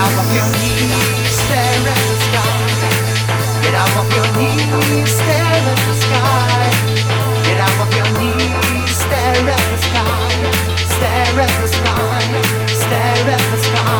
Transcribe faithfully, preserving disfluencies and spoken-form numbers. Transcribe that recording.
out of your knees, stare at the sky. Get out of your knees, stare at the sky. Get out of your knees, stare at the sky. Stare at the sky, stare at the sky.